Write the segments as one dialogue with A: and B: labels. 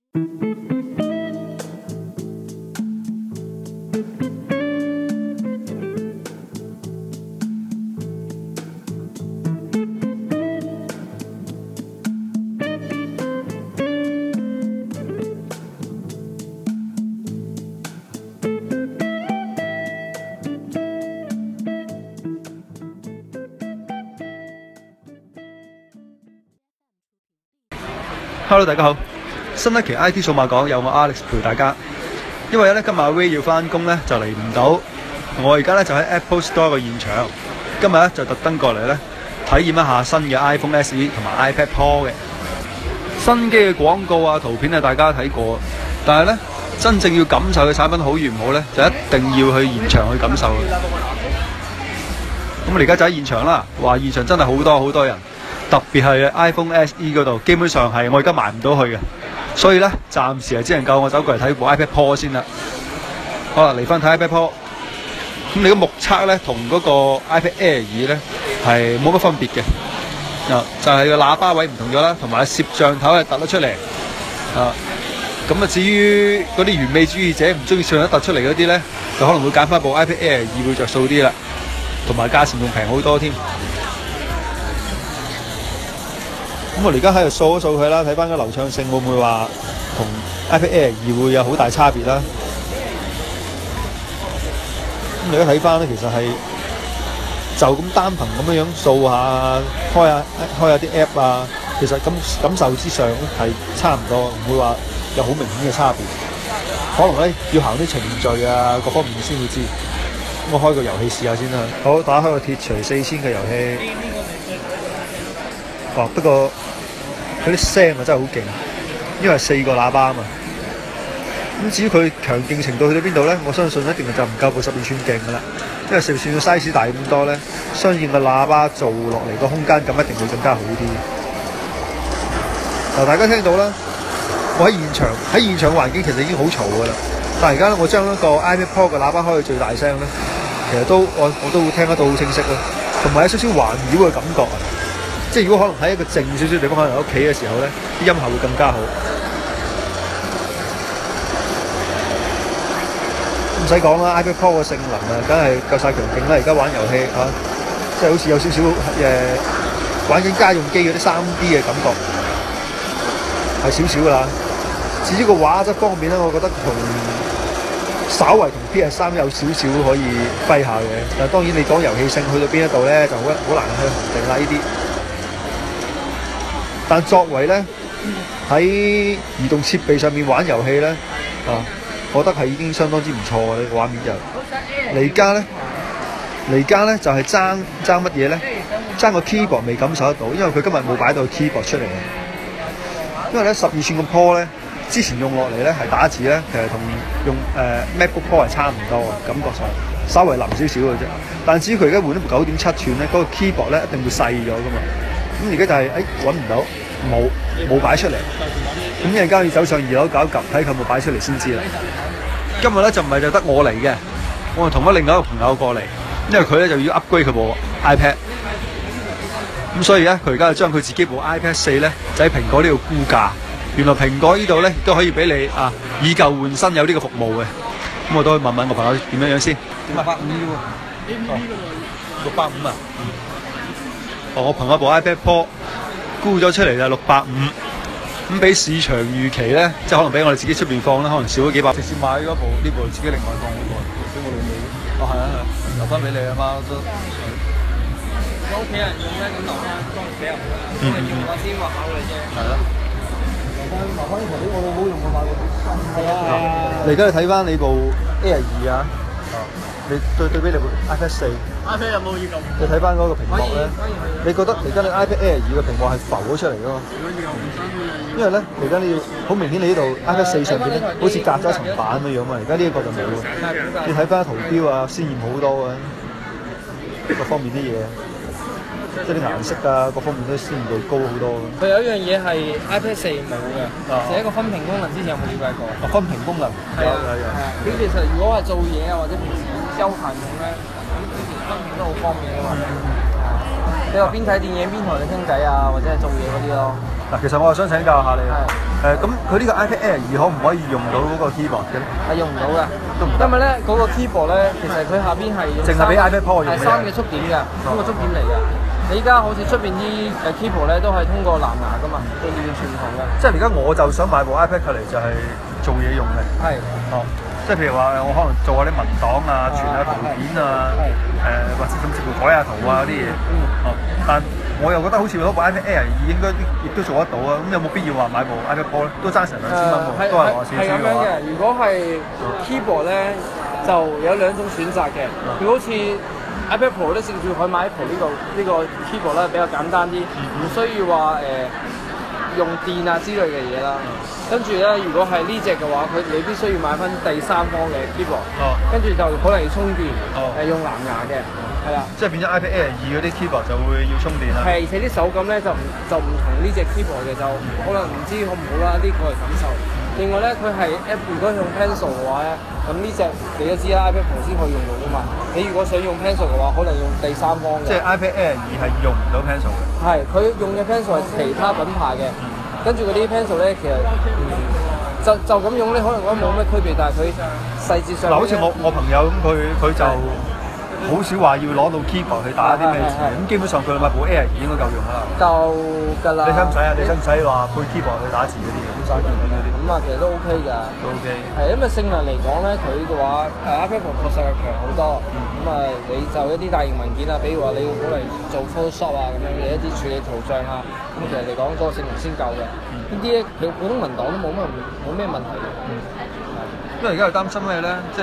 A: Hello， 大家好！新一期 IT 數碼講有我 Alex 陪大家。因為咧今日阿 Ray 要翻工咧就嚟唔到，我而家咧就喺 Apple Store 嘅現場。今日咧就特登過嚟咧體驗一下新嘅 iPhone SE 同埋 iPad Pro 嘅新機嘅廣告啊、圖片啊，大家睇過。但係咧真正要感受嘅產品好與唔好咧，就一定要去現場去感受嘅。咁我而家就喺現場啦，話現場真係好多人。特別係 iPhone SE 嗰度，基本上係我而家埋唔到去嘅，所以咧暫時係只能夠我走過嚟睇部 iPad Pro 先啦。好啦，嚟翻睇 iPad Pro，咁你個目測咧同嗰個 iPad Air 2咧係冇乜分別嘅，就係個喇叭位唔同咗啦，同埋攝像頭係突得出嚟。咁至於嗰啲完美主義者唔中意攝像頭突出嚟嗰啲咧，就可能會揀翻部 iPad Air 2會着數啲啦，同埋價錢仲平好多添。咁我而家喺度掃一掃佢啦，睇翻個流暢性會唔會話同 iPad Air 2會有好大差別啦？咁而家睇翻咧，其實係就咁單憑咁樣掃下、開下啲 app 啊，其實感受之上係差唔多，唔會話有好明顯嘅差別。可能咧要行啲程序啊，各方面先會知。咁我開個遊戲試下先啦。好，打開個鐵錘4000嘅遊戲。不過佢啲聲啊真係好勁，因為4個喇叭啊嘛。咁至於佢強勁程度去到邊度咧？我相信一定就唔夠部12寸勁噶啦，因為12寸嘅 size 大咁多咧，相應嘅喇叭做落嚟個空間感一定會更加好啲。嗱，大家聽到啦，我喺現場環境其實已經好嘈噶啦，但係而家我將一個 iPad Pro 嘅喇叭開到最大聲咧，其實我都會聽得到好清晰咯，同埋有少少環繞嘅感覺啊！即係如果可能喺一個靜少少地方，可能喺屋企嘅時候咧，啲音效會更加好。唔使講啦 ，iPad Pro 嘅性能啊，梗係夠晒強勁啦！而家玩遊戲嚇，即係好似有少少玩緊家用機嗰啲3D 嘅感覺，係少少噶啦。至於個畫質方面咧，我覺得稍為同 PS3 有少少可以揮下嘅。但係當然你講遊戲性去到邊一度咧，就好難去衡定啦呢啲。但作為咧喺移動設備上面玩遊戲咧，我覺得係已經相當之唔錯嘅呢個畫面就。嚟家咧就係爭乜嘢咧？爭個 keyboard 未感受得到，因為佢今日冇擺到 keyboard 出嚟。因為咧12寸嘅 Pro 咧，之前用落嚟咧係打字咧，其實同用MacBook Pro 係差唔多嘅，感覺上稍微腍少少嘅啫。但至於佢而家換咗部9.7寸咧，嗰個 keyboard 咧一定會細咗噶嘛。咁而家就係揾唔到，冇擺出嚟。咁一陣間要走上2樓搞一及，睇佢有冇擺出嚟先知啦。今日咧就唔係就得我嚟嘅，我係同咗另外一個朋友過嚟，因為佢咧就要 upgrade 佢部 iPad。咁所以咧，佢而家就將佢自己部 iPad 4咧，就喺蘋果呢度估價。原來蘋果呢度咧都可以俾你以舊換新，有呢個服務嘅。咁我都去問問我朋友點樣先。650喎。650啊？我朋友部 iPad Pro 估咗出嚟就650，咁比市場預期咧，即係可能比我哋自己出邊放咧，可能少咗幾百。直接買嗰部呢部自己另外放嗰部，俾我老母。係啊，留翻俾你啊嘛都。如果屋企人用咧，咁留翻當俾人㗎。因為用我先話考慮啫。係咯。留翻呢台俾我老母用，我買過。係啊。你而家睇翻你部 Air 2啊？你對比你部 iPad 4。iPad 有冇要咁？你睇翻嗰個屏幕咧，你覺得而家你 iPad Air 2嘅屏幕係浮咗出嚟㗎嘛？因為咧，而家你要好明顯，你呢度 iPad 4上邊咧，好似隔咗一層板咁樣啊！而家呢一個就冇喎。你睇翻圖標啊，鮮豔好多啊，各方面啲嘢，即係啲顏色啊，各方面都鮮豔度高好多。
B: 佢有一樣嘢係 iPad 4冇嘅，就係一個分屏功能。之前有冇了解過？
A: 分屏功能有。
B: 佢其實如果係做嘢啊，或者平時休閒用咧，咁其實分屏都好方便㗎嘛。你話邊睇電影邊同你傾偈啊，或者係做嘢嗰啲咯。
A: 嗱，其實我係想請教下你。 咁佢呢個 iPad Air 2可唔可以用到嗰個 keyboard 嘅咧？
B: 係用唔到嘅，
A: 都唔得
B: 因為咧嗰個 keyboard 咧，其實佢下邊係用
A: 淨係俾 iPad Pro 用嘅
B: 係三嘅觸點嘅，三個觸點嚟嘅。你依家好似出邊啲keyboard 咧，都係通過藍牙噶嘛，佢完全唔同嘅。
A: 即係而家我就想買部 iPad 嚟就係做嘢用嘅。
B: 係。
A: 哦，即係譬如話我可能做下啲文檔啊、傳下圖片啊，或者甚至乎改下圖啊嗰啲嘢。哦，但我又覺得好似攞部 iPad Air 2應該亦都做得到啊！咁有冇必要話買部 iPad Pro 咧？都爭成2000蚊喎，都係我少少嘅話。
B: 係咁樣嘅，如果係 keyboard 咧，就有兩種選擇嘅。佢好似 iPad Pro 咧，甚至可以買 Apple 呢個 keyboard 咧，比較簡單啲，唔需要話用電啊之類嘅嘢啦。跟住咧，如果係呢隻嘅話，你必須要買翻第三方嘅 keyboard，跟住就可能要充電，用藍牙嘅。係啦，
A: 即係變咗 iPad Air 2嗰啲 keyboard 就會要充電啦。
B: 係，而且啲手感咧就唔同呢隻 keyboard 嘅，就可能唔知好唔好啦，呢個係感受。另外咧，佢係如果用 pencil 嘅話咧，咁呢隻你都知啦 ，iPad Pro 先可以用到噶嘛。你如果想用 pencil 嘅話，可能用第三方嘅。
A: 即係 iPad Air 2係用唔到 pencil 嘅。
B: 係，佢用嘅 pencil 係其他品牌嘅，跟住嗰啲 pencil 咧，其實就咁用咧，可能覺得冇咩區別，但係佢細節上
A: 嗱，好似我朋友咁，佢就好少話要攞到 keyboard 去打啲咩字，咁基本上佢買部 Air 2應該夠用啦。
B: 夠㗎啦。
A: 你使唔使啊？你使唔使話配 keyboard 去打字嗰啲嘅？咁嘥電嗰啲。
B: 咁啊，其實都 OK 㗎。
A: 都 OK。
B: 係因為性能嚟講咧，佢嘅話iPad Pro 確實係強好多。咁啊，你就一啲大型文件啊，比如話你要攞嚟做 Photoshop 啊咁樣嘅一啲處理圖像啊，咁其實嚟講嗰個性能先夠嘅。呢啲咧，佢普通文檔都冇咩問題嘅。
A: 因為而家係擔心咩咧？即係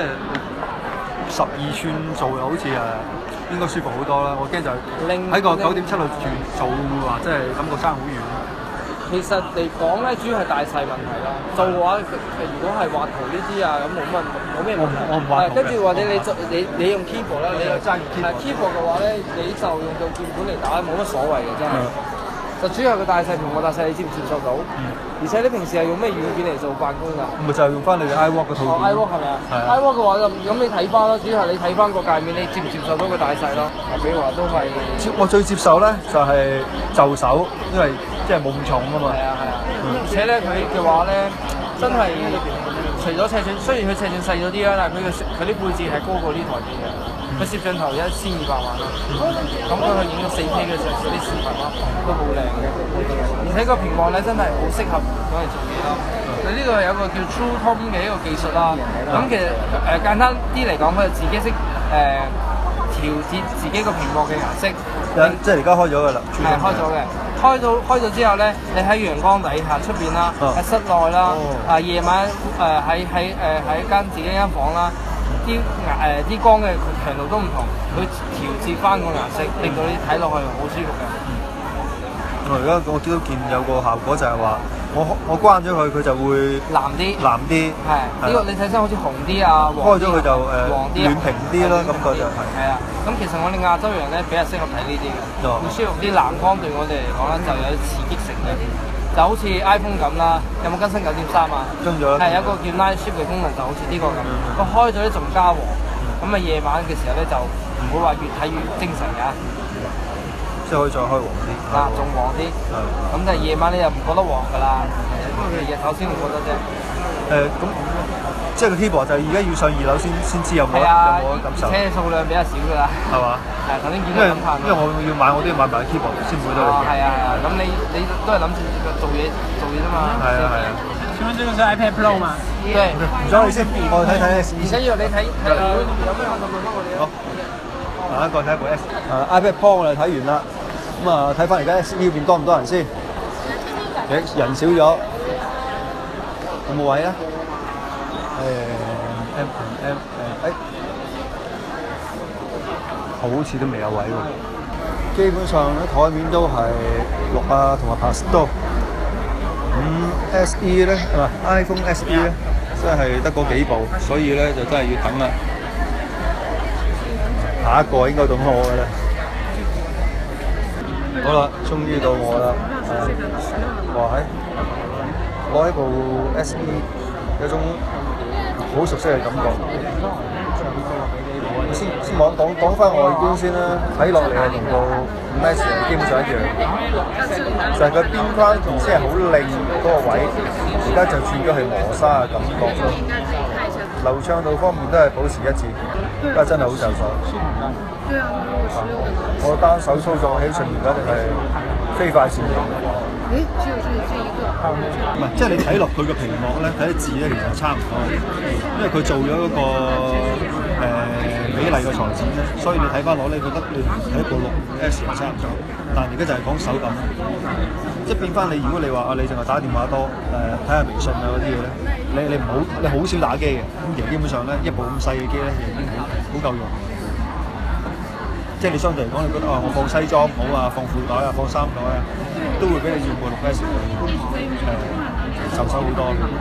A: 12寸做又好似應該舒服好多啦。我驚就喺個9.7度做話，即係感覺爭好遠。
B: 其實嚟講咧，主要係大細問題啦。做嘅話，如果係畫圖呢啲啊，咁冇咩問題。
A: 我唔畫圖嘅。
B: 跟住或者你用 keyboard 啦，你又爭 keyboard 嘅話咧，你就用到鍵盤嚟打，冇乜所謂嘅真係。就主要係個大細，屏幕大細，你接唔接受到？而且你平時係用咩軟件嚟做辦公㗎？
A: 咪就係用翻你嘅 iWalk 嗰套。
B: iWalk 係咪啊？係 iWalk 嘅話就咁你睇翻咯，主要係你睇翻個界面，你接唔接受到個大細咯？比如話都係。
A: 我最接受咧就係就手，因為即係冇咁重啊嘛。係啊。
B: 而且咧佢嘅話咧，真係除咗尺寸，雖然佢尺寸細咗啲啦，但係佢啲配置係高過呢台機嘅。佢攝像頭1200萬啦，咁佢去影咗4K 嘅上啲視頻咯，都好靚嘅。而且個屏幕咧真係好適合攞嚟做嘢咯。佢呢個係有個叫 True Tone 嘅一個技術啦。咁其實簡單啲嚟講，佢就自己識調節自己個屏幕嘅顏色。
A: 即係而家開咗㗎啦。
B: 係開咗嘅。開咗之後咧，你喺陽光底下出邊啦，喺室內啦，夜晚喺間自己間房啦。啲光嘅強度都唔同，佢調節翻個顏色，令到你睇落去好舒服嘅。
A: 而家我見到有個效果就係話，我關咗佢，佢就會藍啲。
B: 係呢個你睇身好似紅啲啊，
A: 開咗佢就黃啲暖平啲咯，感覺就係。係啊，
B: 咁其實我哋亞洲人咧比較適合睇呢啲嘅，會舒服啲。藍光對我哋嚟講咧就有刺激性嘅。就好似 iPhone 咁啦，有冇更新9.3啊？
A: 更咗啦。
B: 係有一個叫 Night Shift 嘅功能，就好似呢個咁。佢開咗咧仲加黃，咁啊夜晚嘅時候咧就唔會話越睇越精神㗎。
A: 即係可以再開黃啲。
B: 仲黃啲。咁但係夜晚你又唔覺得黃㗎啦，不過佢日頭先會覺得啫。
A: 咁即係個 keyboard 就而家要上2樓先知有冇感受。
B: 而且數量比較少㗎啦。係
A: 嘛？
B: 係頭先見到咁
A: 因為我要買，我都要買埋 keyboard 先會得。
B: 係啊。咁你都係諗住做嘢啫嘛。
A: 係啊。
C: 請問這個是 iPad Pro 嗎？
B: 對。
A: 唔該你先，我睇睇。
B: 而且要你睇有咩問題問我哋啊。
A: 好，下一個睇一部 iPad Pro 我哋睇完啦。咁啊，睇翻而家 SE 呢邊多唔多人先？人少咗，有冇位啊好似都未有位喎。基本上咧台面都係6啊同埋 Pastel。SE 咧iPhone SE 咧，真係得嗰幾部，所以咧就真係要等啦。下一個應該到我嘅啦。好啦，終於到我啦！攞起部 SE 有種好熟悉嘅感覺。先講翻外觀先啦，睇落嚟係同部5S 基本上一樣，就係佢邊框唔知係好靚嗰個位，而家就轉咗係磨砂嘅感覺咯。流暢度方面都係保持一致，而家真係好就手。我單手操作起上面而家就係飛快閃電。唔係，即係你睇落佢個屏幕咧，睇啲字咧，其實差唔多，因為佢做咗嗰個美麗嘅裁剪咧，所以你睇翻落咧，覺得你睇部 6S 係差唔多，但係而家就係講手感，即係變翻你。如果你話你淨係打電話多，睇下微信啊嗰啲嘢咧，你好少打機嘅，咁其實基本上咧一部咁細嘅機咧，已經好夠用。即係你相對嚟講，你覺得我放西裝好啊，放褲袋啊，放衫袋啊，都會比你用部 6S 就手好多。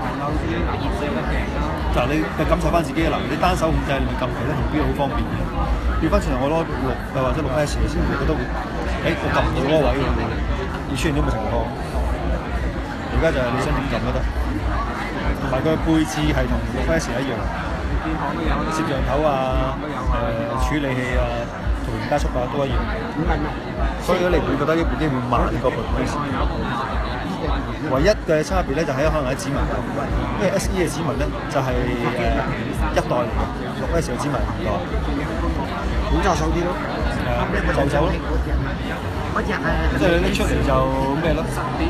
A: 嗱，你感受翻自己啦，你單手控制，你撳其他圖標好方便嘅。調翻轉頭，我攞6或者 6S 嘅時候，你覺得會，我撳唔到嗰個位喎，會出現呢個情況。而家就係你想點撳都得，同埋佢嘅配置係同 6S 一樣，攝像頭啊，處理器啊。圖形加速啊都一樣，所以你唔會覺得呢部機會慢過部 6S。唯一嘅差別咧就係可能喺指紋，因為 SE 嘅指紋咧就係一代嚟嘅，6S 嘅指紋唔多，好就手啲咯，就手咯，即係你拎出嚟就咩咯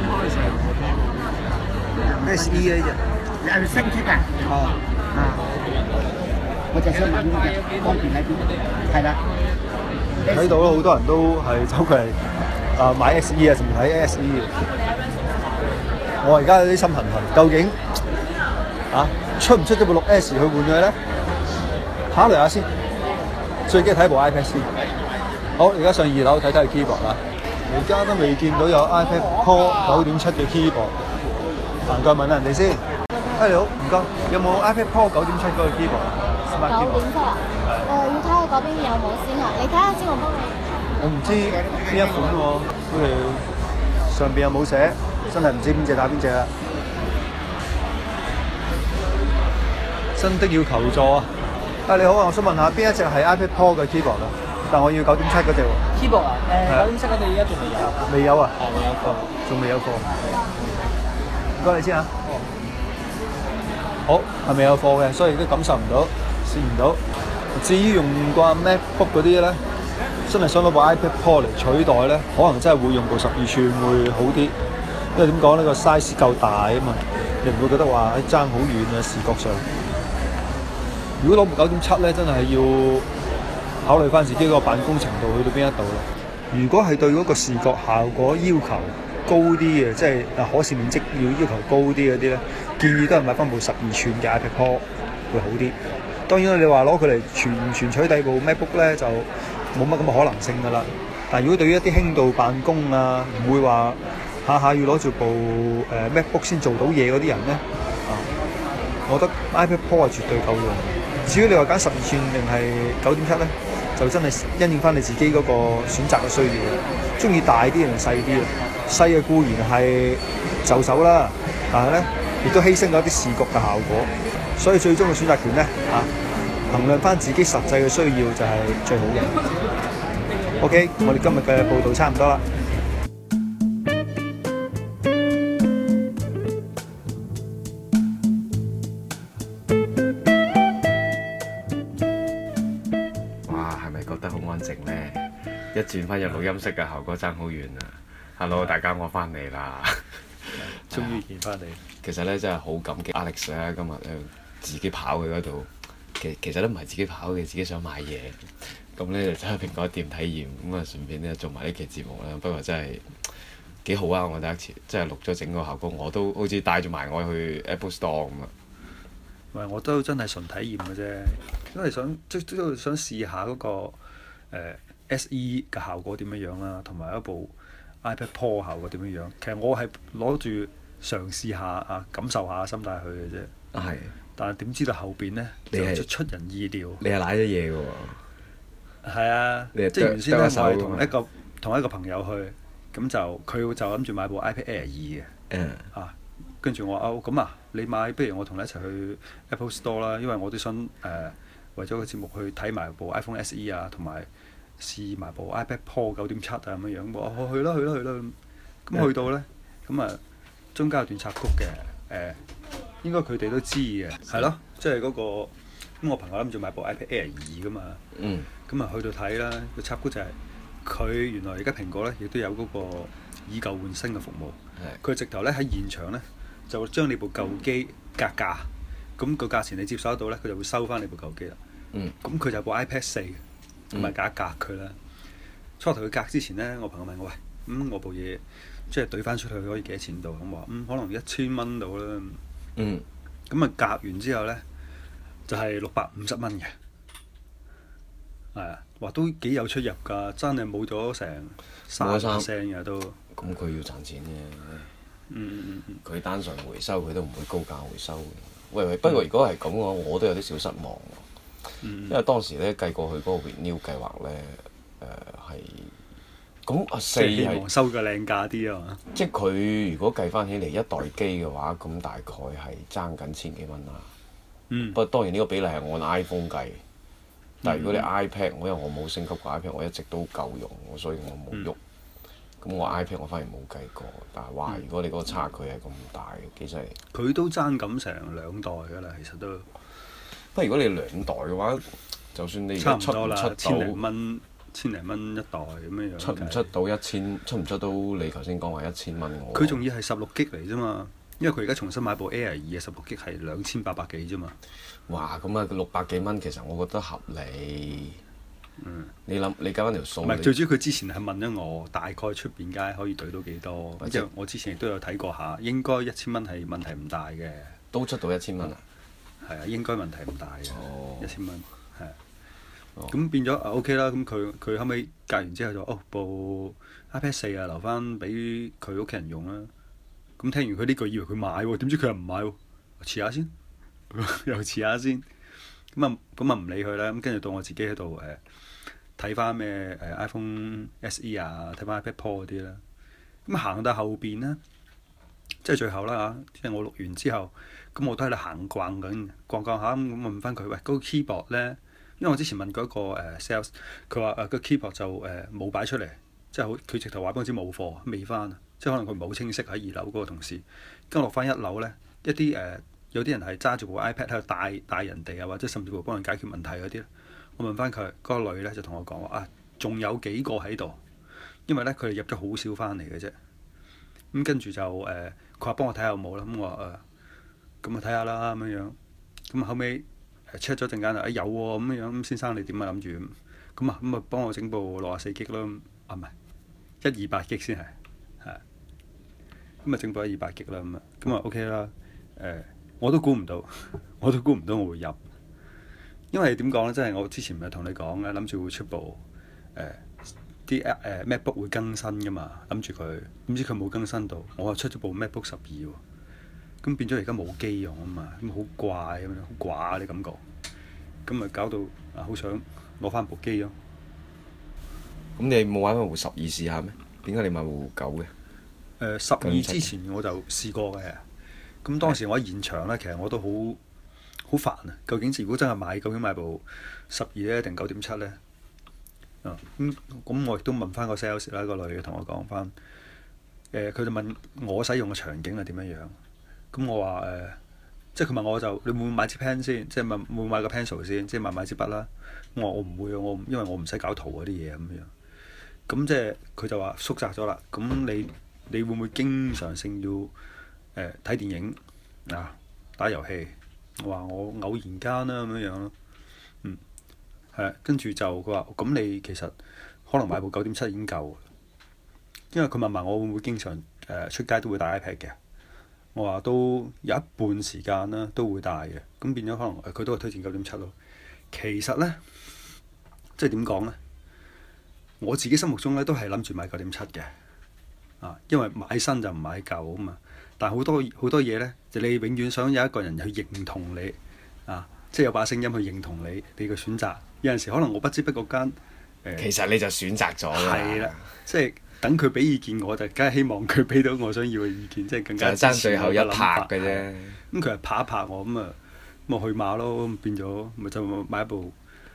A: ？SE 嘅啫，你係升級㗎？我就想問呢隻方便喺邊？係啦。睇到好多人都係走過嚟買 SE 啊，甚至睇 SE。我而家有啲心痕痕，究竟出唔出咗部 6S 去換佢咧？考慮下先。最緊睇部 iPad 先。好，而家上2樓睇睇 keyboard 啦。而家都未見到有 iPad Pro 9.7嘅 keyboard。行過問下人哋先。你好，唔該，有冇 iPad Pro 9.7嗰個 keyboard？9.7
D: 啊？要睇下嗰邊有冇先啊！你睇下先，我幫你。
A: 我唔知邊一款喎，佢哋上邊又冇寫，真係唔知邊隻打邊隻啦。真的要求助啊！你好啊，我想問下邊一隻係 iPad Pro 嘅 keyboard 啊？但我要9.7嗰隻喎。
B: keyboard 啊？9.7嗰隻而家仲未有。
A: 未有啊？
B: 未有貨。
A: 仲未有貨。唔該你先嚇。好，係未有貨嘅，所以都感受唔到，試唔到。至於用慣 MacBook 嗰啲咧，真係想攞部 iPad Pro 嚟取代咧，可能真係會用部12寸會好啲，因為點講呢個 size 夠大啊嘛，你唔會覺得話爭好遠啊視覺上。如果攞部9.7咧，真係要考慮翻自己個辦公程度去到邊一度啦。如果係對嗰個視覺效果要求高啲嘅，即係可視面積要求高啲嗰啲咧，建議都係買翻部12寸嘅 iPad Pro 會好啲。當然啦，你話攞佢嚟全取代部 MacBook 咧，就冇乜咁嘅可能性㗎啦。但係如果對於一啲輕度辦公啊，唔會話下下要攞住部MacBook 先做到嘢嗰啲人咧，我覺得 iPad Pro 係絕對夠用。至於你話揀12寸定係9.7咧，就真係因應翻你自己嗰個選擇嘅需要。中意大啲定細啲啊？細嘅固然係就手啦，但係咧亦都犧牲咗一啲視覺嘅效果。所以最終嘅選擇權咧，衡量翻自己實際嘅需要就係最好嘅。OK，我哋今日嘅報道差唔多啦。
E: 哇，係咪覺得好安靜咧？一轉翻入錄音室嘅效果爭好遠啊 ！Hello， 大家我翻嚟啦，
A: 終於見翻你。
E: 其實咧真係好感激 Alex 咧，今日咧自己跑去嗰度，其實都唔係自己跑嘅，自己想買嘢，咁咧就走去蘋果店體驗，咁啊順便咧做埋呢期節目啦。不過真係幾好啊！我第一次真係錄咗整個效果，我都好似帶住埋我去 Apple Store 咁啊。
A: 唔係，我都真係純體驗嘅啫，因為都想試下嗰個SE 嘅效果點樣樣啦，同埋一部 iPad Pro 效果點樣樣。其實我係攞住嘗試下感受下心態去嘅啫。
E: 係。但
A: 係點知道後邊咧就出人意料。
E: 你係攋咗嘢嘅喎。
A: 係啊，即係原先咧，我係同一個朋友去，咁就佢就諗住買部 iPad Air 2嘅。跟住我話咁你買，不如我同你一齊去 Apple Store 啦，因為我都想為咗個節目去睇埋部 iPhone SE 啊，同埋試埋部 iPad Pro 9.7啊咁樣樣。我去啦，咁去到咧，咁中間有段插曲嘅，應該佢哋都知嘅，係咯，即係嗰個咁我朋友諗住買部 iPad Air 2噶嘛，咁啊去到睇啦，個插曲就係佢原來而家蘋果咧亦都有嗰個以舊換新嘅服務，佢直頭咧喺現場咧就將你部舊機格價，咁個價錢你接受得到咧，佢就會收翻你部舊機啦。咁佢就部 iPad 4，咁咪格一格佢啦。初頭佢格之前咧，我朋友問我喂，我部嘢即係懟翻出去可以幾多錢度？咁話可能1000蚊到啦。咁啊格完之後咧就係650蚊嘅，係啊，話都幾有出入㗎，真係冇咗成30%嘅都。
E: 咁佢要賺錢嘅。佢單純回收佢都唔會高價回收嘅。喂，不過如果係咁嘅話，我都有啲小失望喎。因為當時咧計過佢嗰個 renew 計劃咧，係咁4係
A: 希望收個靚價啲啊嘛。
E: 即係佢如果計翻起嚟一代機嘅話，咁大概係爭緊千幾蚊啦。不過當然呢個比例係按 iPhone 計，但係如果你 iPad，因為我冇升級過 iPad，我一直都夠用，所以我冇喐。咁我 iPad 我反而冇計過，但係哇！如果你嗰個差距係咁大，幾犀利。
A: 佢都爭咁成2代㗎啦，其實都。
E: 不過如果你2代嘅話，就算你而家出唔出到
A: 千零蚊一代咁樣樣，
E: 出唔出到1000，出唔出到你頭先講話1000蚊我？
A: 佢仲要係16GB嚟啫嘛，因為佢而家重新買部 Air 2嘅16GB係2800幾啫嘛。
E: 哇！咁啊600幾蚊，其實我覺得合理。你諗你計翻條數。
A: 唔係最主要，佢之前係問咗我大概出邊街可以對到幾多，因為我之前亦都有睇過下，應該1000蚊係問題唔大嘅。
E: 都出到1000蚊啊？
A: 係啊，應該問題唔大嘅，1000蚊係。咁變咗OK 啦，咁佢後尾隔完之後就部 iPad 4啊留翻俾佢屋企人用啦。咁聽完佢呢句以為佢買喎，點知佢又唔買喎，遲下先，又遲下先。咁啊唔理佢啦，咁跟住到我自己喺度睇翻咩iPhone SE 啊，睇翻 iPad Pro 嗰啲啦。咁行到後邊咧，即係最後啦嚇，即係我錄完之後，咁我都喺度行逛緊，逛下咁問翻佢，喂，嗰個 keyboard 咧，因為我之前問過一個sales，佢話個 keyboard 就冇擺出嚟，即係佢直頭話俾我知冇貨，未翻啊，即係可能佢唔係好清晰喺2樓嗰個同事。跟住落翻1樓咧，一啲有啲人係揸住部 iPad 喺度帶人哋啊，或者甚至乎幫人解決問題嗰啲咧。我問翻佢，嗰個女咧就同我講話啊，仲有幾個喺度，因為咧佢哋入咗好少翻嚟嘅啫。咁跟住就佢話幫我睇下有冇啦。咁我話咁啊睇下啦咁樣樣。咁後尾 check 咗陣間啊，有喎咁樣樣。咁先生你點啊諗住咁啊幫我整部64GB咯。啊唔係128GB先係。咁啊整部128GB啦咁啊 OK 啦。我都估唔到我會入，因為點講咧？即係我之前咪同你講咧，諗住會出部啲MacBook 會更新噶嘛，諗住佢，點知佢冇更新到，我又出咗部 MacBook 12喎，咁變咗而家冇機用啊嘛，咁好怪咁樣，好寡啲感覺，咁咪搞到好想攞翻部機咯。
E: 咁你冇玩翻部12試下咩？點解你買部9嘅
A: ？12之前我就試過嘅。咁當時我喺現場咧，其實我都好煩啊！究竟如果真係買，究竟買部12咧定9.7咧？咁我亦都問翻個 sales 啦，個女嘅同我講翻，佢就問我使用嘅場景係點樣樣？咁我話即係佢問我就你會唔會買支 pen 先？即係會唔會買個 pencil 先？即係買支筆啦。我話我唔會啊，因為我唔使搞圖嗰啲嘢咁樣。咁即係佢就話縮窄咗啦。咁你會唔會經常性要睇電影打遊戲？我話我偶然間啦咁樣樣咯。跟住就佢話咁你其實可能買部9.7已經夠，因為佢問埋我會唔會經常出街都會帶 iPad 嘅。我話都有一半時間啦都會帶嘅，咁變咗可能佢都係推薦9.7咯。其實咧，即係點講咧？我自己心目中咧都係諗住買9.7嘅，因為買新就唔買舊啊嘛。但係好多嘢咧，就你永遠想有一個人去認同你即係有把聲音去認同你嘅選擇。有陣時可能我不知不覺間
E: 其實你就選擇咗啦。
A: 係啦，即係等佢俾意見我就梗係希望佢俾到我想要嘅意見，即係更加
E: 就爭最後一拍嘅啫。
A: 咁佢係拍一拍我咁我去馬咯，變咗咪就買一部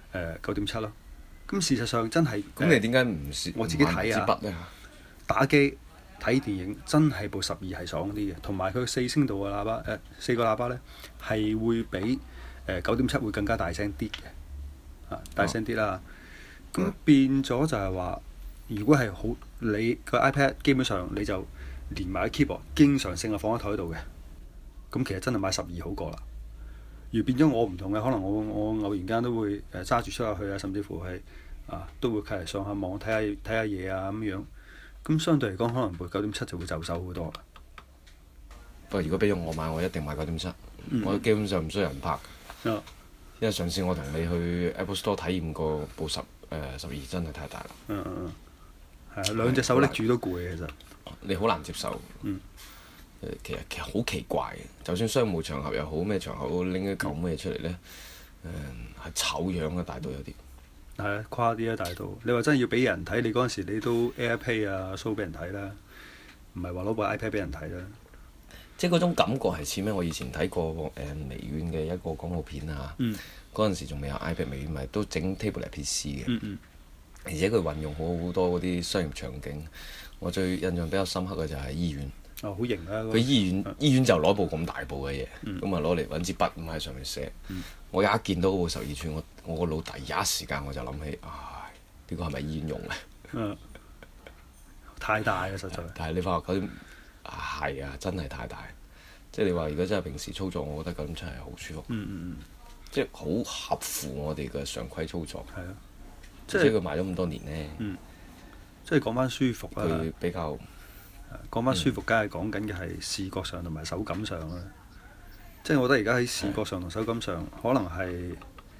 A: 9.7咯。咁事實上真係
E: 咁你點解唔試？
A: 我自己睇啊，
E: 筆咧
A: 打機
F: 睇電影真係部12係爽啲嘅，同埋佢4聲道嘅喇叭4個喇叭呢係會比9.7會更加大聲啲嘅，大聲啲啦。咁變咗就係話，如果係好你個 iPad 基本上你就連埋個 keyboard，經常性係放喺台度嘅，咁其實真係買12好過啦。而變咗我唔同嘅，可能我偶然間都會揸住出下去啊，甚至乎係都會嚟上下網睇下嘢啊咁樣。咁相對嚟講，可能部9.7就會就手好多啦。
E: 不過如果俾咗我買，我一定買9.7，我基本上唔需要人拍。因為上次我同你去 Apple Store 體驗過部12真係太大啦。
F: 係啊，兩隻手拎住都攰嘅其實。
E: 你好難接受。其實好奇怪嘅，就算商務場合又好，咩場合都拎一嚿咩出嚟呢？係醜樣嘅大到有啲。
F: 係啊，誇啲啊大到！你話真係要俾人睇，你嗰陣時你都 AirPlay 啊 show 俾人睇啦，唔係話攞部 iPad 俾人睇啦。
E: 即係嗰種感覺係似咩？我以前睇過微軟嘅一個廣告片啊，嗰陣時仲未有 iPad， 微軟咪都整 tablet PC 嘅，而且佢運用好多嗰啲商業場景。我最印象比較深刻嘅就係醫院。
F: 好型啊！
E: 佢醫院就攞部咁大部嘅嘢，咁啊攞嚟揾支筆咁喺上面寫。我一見到嗰部12寸，我個腦第一時間我就諗起，呢個係咪醫院用嘅？
F: 太大啦，實在。
E: 但係你發覺9.7係啊，真係太大。即係你話如果真係平時操作，我覺得9.7係好舒服。即係好合乎我哋嘅常規操作。
F: 係啊，
E: 即係佢賣咗咁多年呢。
F: 即係講翻舒服啦。
E: 佢比較。
F: 講翻舒服，梗係講緊嘅係視覺上同埋手感上啦。即係我覺得而家喺視覺上同手感上，可能係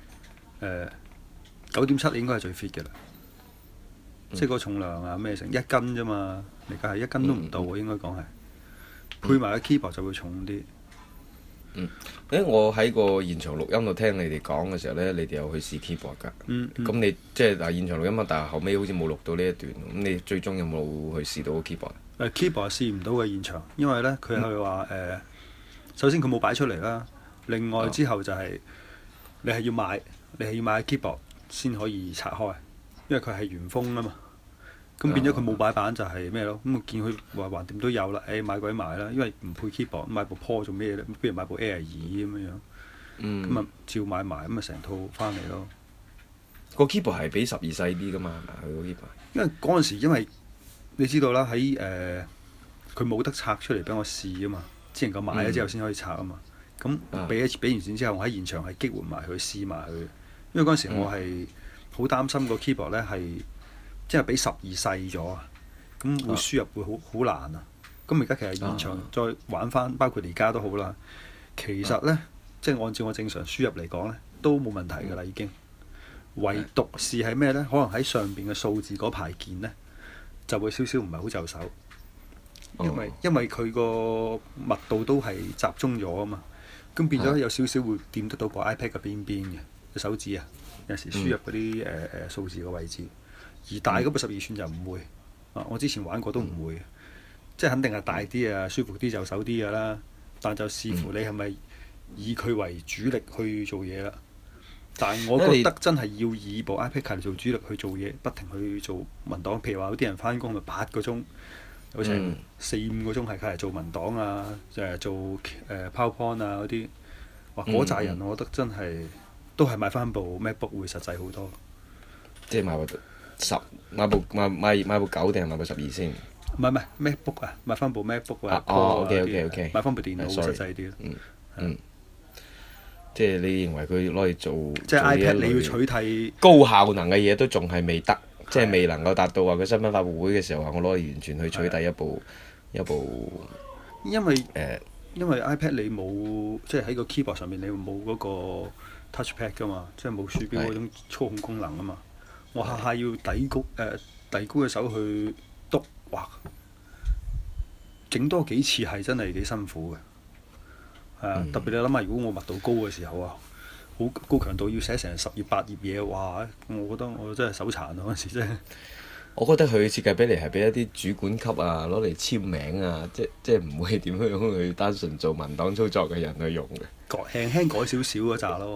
F: 9.7應該係最 fit 嘅啦。即係個重量啊咩成1斤啫嘛，而家係1斤都唔到喎，應該講係。配埋個 keyboard 就會重啲。
E: 我喺個現場錄音度聽你哋講嘅時候呢，你哋有去試 keyboard 㗎。咁你即係現場錄音啊，但係後尾好似冇錄到呢一段。咁你最終有冇去試到個 keyboard？keyboard
F: 試唔到嘅現場，因為呢，佢係話首先佢冇擺出嚟啦，另外之後就係你係要買 keyboard 先可以拆開，因為佢係原封啊嘛。咁變咗佢冇擺板就係咩咯？咁我見佢話橫掂都有啦，買鬼買啦，因為唔配 keyboard，買部 Pro 做咩咧？不如買部 Air 2咁樣。咁啊照買埋，咁啊成套翻嚟咯。
E: 個 keyboard 係比12細啲㗎嘛？佢個 keyboard。
F: 因為嗰陣時，因為你知道啦，喺佢冇得拆出嚟俾我試啊嘛，只能夠買咗之後先可以拆啊嘛。咁俾完錢之後，我喺現場係激活埋佢試埋佢，因為嗰陣時我係好擔心個 keyboard 咧係即係比12細咗啊，咁會輸入會好難啊。咁而家其實現場再玩翻，包括而家都好啦。其實呢，即係按照我正常輸入嚟講呢，都冇問題㗎啦已經。唯獨是係咩呢？可能喺上邊嘅數字嗰排鍵呢，就會少少唔係好就手，因為佢個密度都係集中咗啊嘛。咁變咗有少少會掂得到個 iPad 嘅邊邊嘅手指啊，有時輸入嗰啲數字嘅位置。而大嗰部12寸就唔會，我之前玩過都唔會，即係肯定係大啲啊，舒服啲就手啲㗎啦。但就視乎你係咪以佢為主力去做嘢啦。但係我覺得真係要以部 iPad 嚟做主力去做嘢，不停去做文檔。譬如話有啲人翻工咪8個鐘，有成4-5個鐘係嚟做文檔啊，做PowerPoint 啊嗰啲。哇！嗰扎人我覺得真係都係買翻部 MacBook 會實際好多。
E: 即係買部9定係買部12先？
F: 唔係 MacBook 啊，買翻部 MacBook 啊。
E: OK。
F: 買翻部電腦會實際啲。
E: 即係你認為佢攞嚟做
F: 即係 iPad 你要取替
E: 高效能嘅嘢都仲係未得，即係未能夠達到話佢新品發佈會嘅時候話我攞嚟完全去取替一部。
F: 因為 iPad 你冇即係喺個 keyboard 上面你冇嗰個 touchpad 㗎嘛，即係冇鼠標嗰種操控功能啊嘛。我下下要遞高嘅手去篤，哇！整多幾次係真係幾辛苦嘅。特別你諗下，如果我密度高嘅時候啊，好高強度要寫成10頁8頁嘢，哇！我覺得我真係手殘啊嗰陣時真係。
E: 我覺得佢設計俾嚟係俾一啲主管級啊攞嚟簽名啊，即係唔會點樣去單純做文檔操作嘅人去用嘅。
F: 輕輕改少少嗰扎咯，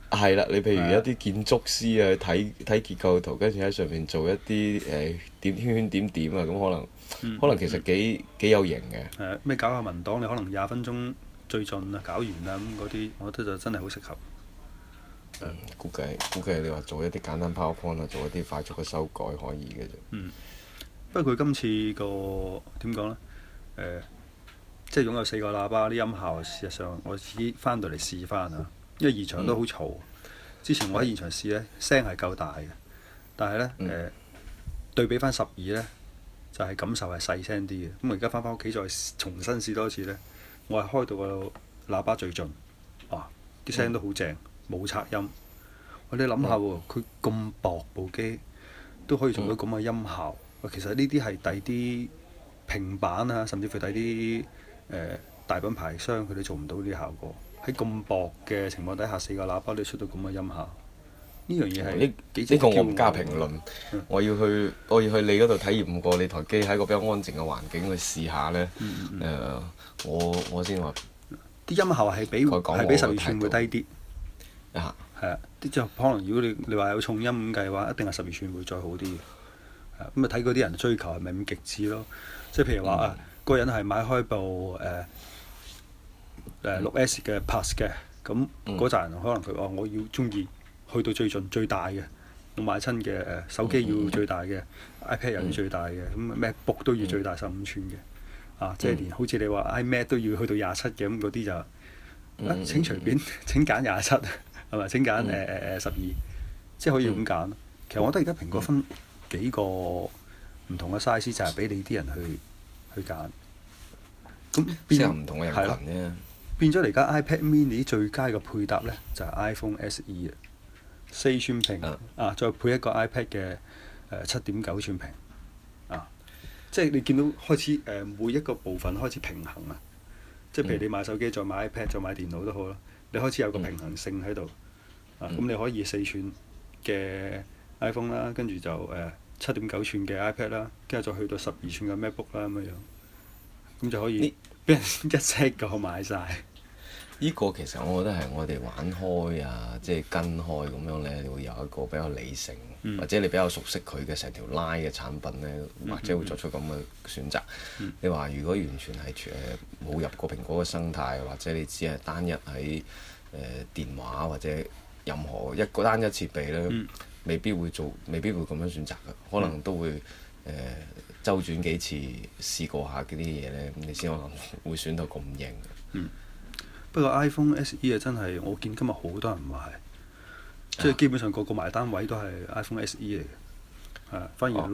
E: 係啦，你譬如一啲建築師啊，睇結構圖，跟住喺上面做一啲點圈圈點點啊，咁可能其實幾有型嘅。
F: 係咩搞下文檔，你可能20分鐘最盡啊，搞完啦咁嗰啲，我覺得就真係好適合。
E: 估計你話做一啲簡單 PowerPoint 啊，做一啲快速嘅修改可以嘅啫。
F: 不過佢今次個點講呢？即係擁有4個喇叭啲音效，事實上我自己翻到嚟試翻啊，因為現場都好嘈。之前我喺現場試呢，聲係夠大嘅，但係呢，對比翻12呢，就係感受係細聲啲嘅。咁我而家翻屋企再重新試多次呢，我係開到個喇叭最盡，啲聲都好正，冇拆音。你諗下喎，佢咁薄部機都可以做到咁嘅音效。其實呢啲係第啲平板啊，甚至乎第啲大品牌商佢哋做唔到呢啲效果。喺咁薄嘅情況底下，4個喇叭都出到咁嘅音效，呢樣嘢係
E: 呢個我唔加評論。我要去你嗰度體驗過你台機喺個比較安靜嘅環境去試下呢。我先話
F: 啲音效係比12寸會低啲。係啊，即係可能如果你話有重音咁計嘅話，一定係12寸會再好啲嘅。咁睇嗰啲人追求係咪咁極致咯？即係譬如話嗰個人係買開部6S 嘅 Plus 嘅，咁嗰扎人可能佢話我要中意去到最盡最大嘅，我買親嘅手機要最大嘅，iPad 又要最大嘅，咁 MacBook 都要最大15寸嘅，即係連好似你話 iMac 都要去到27嘅，咁嗰啲就請隨便請揀27係咪？請揀12，即係可以咁揀。其實我覺得而家蘋果分幾個唔同嘅 size 就係俾你啲人去揀。咁
E: 適合唔同嘅人群啫。
F: 變咗嚟家 iPad Mini 最佳嘅配搭呢，就係 iPhone SE 啊，4寸屏再配一個 iPad 嘅7.9寸屏即係你見到開始每一個部分開始平衡啊！即係譬如你買手機再買 iPad 再買電腦都好啦，你開始有個平衡性喺度咁你可以4寸嘅 iPhone 啦，跟住就7.9寸嘅 iPad 啦，跟住再去到12寸嘅 MacBook 啦咁樣，咁就可以俾人一 set 個買晒。
E: 呢個其實我覺得係我哋玩開啊，即係跟開咁樣呢，你會有一個比較理性，或者你比較熟悉佢嘅成條 line 嘅產品呢，或者會作出咁嘅選擇。你話如果完全係冇入過蘋果嘅生態，或者你只係單一喺電話或者任何一個單一設備呢，未必會咁樣選擇嘅，可能都會周轉幾次試過下嗰啲嘢呢，咁你先可能會選到咁型。
F: 不過 iPhone SE 啊，真係我見今日好多人買，即係基本上個埋單位都係 iPhone SE 嚟嘅，反而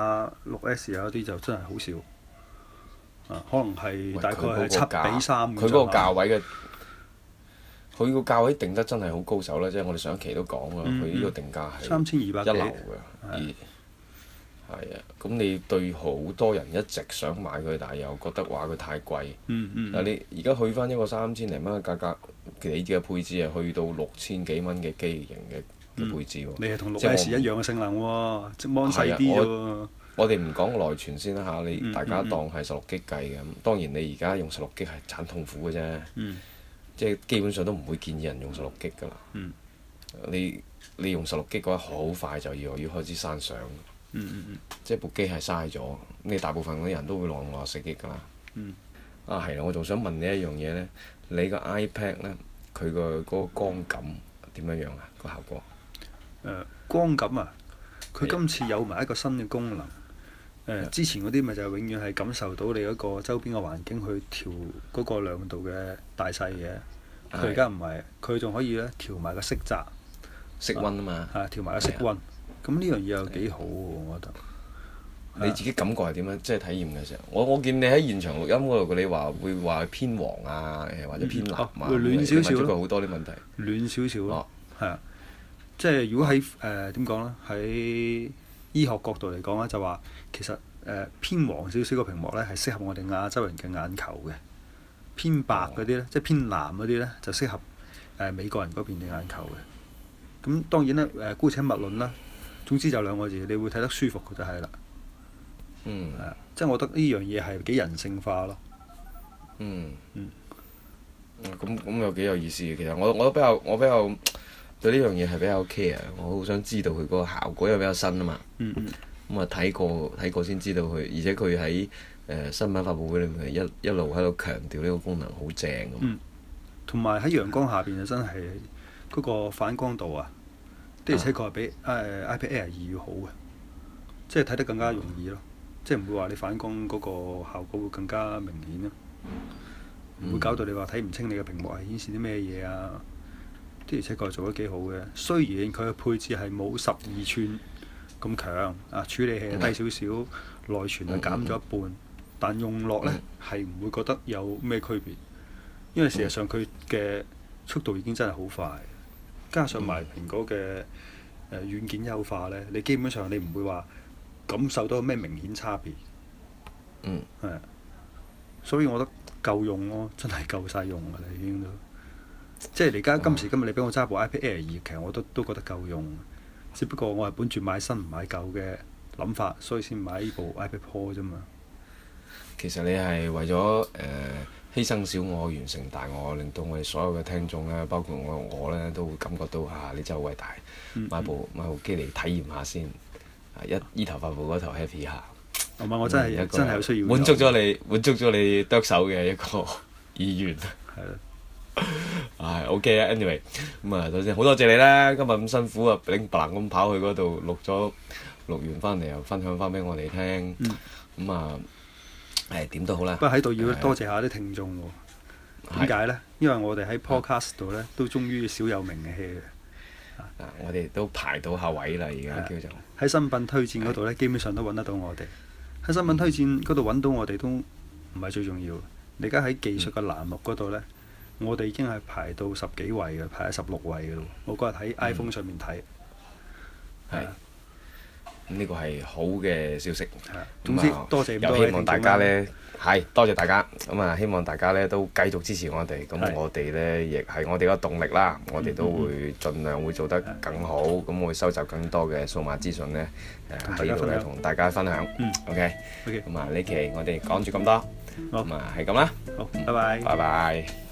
F: 6S 啊嗰啲就真係好少，可能係大概係7:3。
E: 佢嗰個價位嘅，佢個價位定得真係好高手啦！即係我哋上一期都講啦，佢呢個定價係
F: 3200幾
E: 一流嘅。係啊，咁你對好多人一直想買佢，但係又覺得話佢太貴。但係你而家去翻一個3000零蚊嘅價格，你嘅配置係去到6000幾蚊嘅機型嘅配置喎。
F: 你係同6S 一樣嘅性能喎，即係 mon 細啲啫喎。
E: 我哋唔講內存先啦嚇，你大家當係16G計嘅，咁當然你而家用16G係慘痛苦嘅啫。即係基本上都唔會建議人用16G㗎啦。你用16G嘅話，好快就要開始刪相。即係部機係嘥咗，你大部分嗰啲人都會用64G㗎啦。係啦，我仲想問你一樣嘢呢，你個 iPad 呢，佢個嗰個光感點樣樣啊？個效果？
F: 光感啊，佢今次有埋一個新嘅功能。之前嗰啲咪就永遠係感受到你嗰個周邊嘅環境去調嗰個亮度嘅大細嘅。佢而家唔係，佢仲可以咧調埋個色澤。
E: 色溫啊嘛。
F: 調埋個色溫。咁呢樣嘢又幾好喎，我覺得。
E: 你自己感覺係點樣？即係體驗嘅時候，我見你喺現場錄音嗰度，你話會話偏黃啊，或者偏藍啊，
F: 會暖少少咯。
E: 問咗佢好多啲問題。
F: 暖少少咯。係啊，即係如果喺點講呢？喺醫學角度嚟講咧，就話其實偏黃少少個屏幕呢係適合我哋亞洲人嘅眼球嘅。偏白嗰啲呢，即係偏藍嗰啲呢，就適合美國人嗰邊嘅眼球嘅。咁當然咧姑且勿論啦。總之就兩個字，你會睇得舒服就係啦。即係我覺得呢樣嘢係幾人性化咯。
E: 咁又幾有意思嘅。其實我比較對呢樣嘢係比較 care，我好想知道佢嗰個效果，因為比較新啊嘛。咁啊睇過先知道佢，而且佢喺新聞發佈會裏面一路喺度強調呢個功能好正咁。
F: 同埋喺陽光下邊就真係嗰個反光度啊，的而且確係比iPad Air 2要好嘅，即係睇得更加容易咯，即係唔會話你反光嗰個效果會更加明顯咯，唔會搞到你話睇唔清你嘅屏幕係顯示啲咩嘢啊。的而且確做得幾好嘅，雖然佢嘅配置係冇12寸咁強啊，處理器係低少少，內存係減咗一半，但用落呢係唔會覺得有咩區別，因為事實上佢嘅速度已經真係好快，加上埋蘋果嘅軟件優化呢，你基本上你唔會話感受到咩明顯差別。係，所以我覺得夠用咯，真係夠晒用㗎啦，已經都。即係你而家今時今日你俾我揸部 iPad Air 2，其實我都覺得夠用，只不過我係本住買新唔買舊嘅諗法，所以先買呢部 iPad Pro 啫嘛。
E: 其實你係為咗犧牲小我完成大我，令到我哋所有嘅聽眾咧，包括我咧，都會感覺到你真係好偉大，買部機嚟體驗下先，依頭發布嗰頭 happy 下。
F: 唔係我真係有需要。
E: 滿足咗你剁手嘅一個意願。
F: 係咯。
E: OK 啊 ，anyway， 咁啊，首先好多謝你啦，今日咁辛苦啊，拎白蘭咁跑去嗰度錄完翻嚟又分享翻俾我哋聽，咁啊，點都好啦。
F: 不過喺度要多謝下啲聽眾喎，點解呢？因為我哋喺 podcast 度呢，都終於小有名氣嘅。
E: 我哋都排到下位啦，而家叫做
F: 喺新品推薦嗰度呢，基本上都揾得到我哋。喺新品推薦嗰度揾到我哋都唔係最重要，你而家喺技術嘅欄目嗰度呢。我哋已經係排到10幾位嘅，排喺16位嘅咯。我嗰日喺 iPhone 上面睇，
E: 係呢個係好嘅消息。
F: 總之多謝
E: 又希望大家呢，多謝大家。咁啊，希望大家呢都繼續支持我哋。咁我哋呢亦係我哋嘅動力啦。我哋都會盡量會做得更好。咁我會收集更多嘅數碼資訊呢，喺呢度呢同大家分享。OK。咁啊，呢期我哋講住咁多。咁啊，係咁啦。
F: 好，拜拜。
E: 拜拜。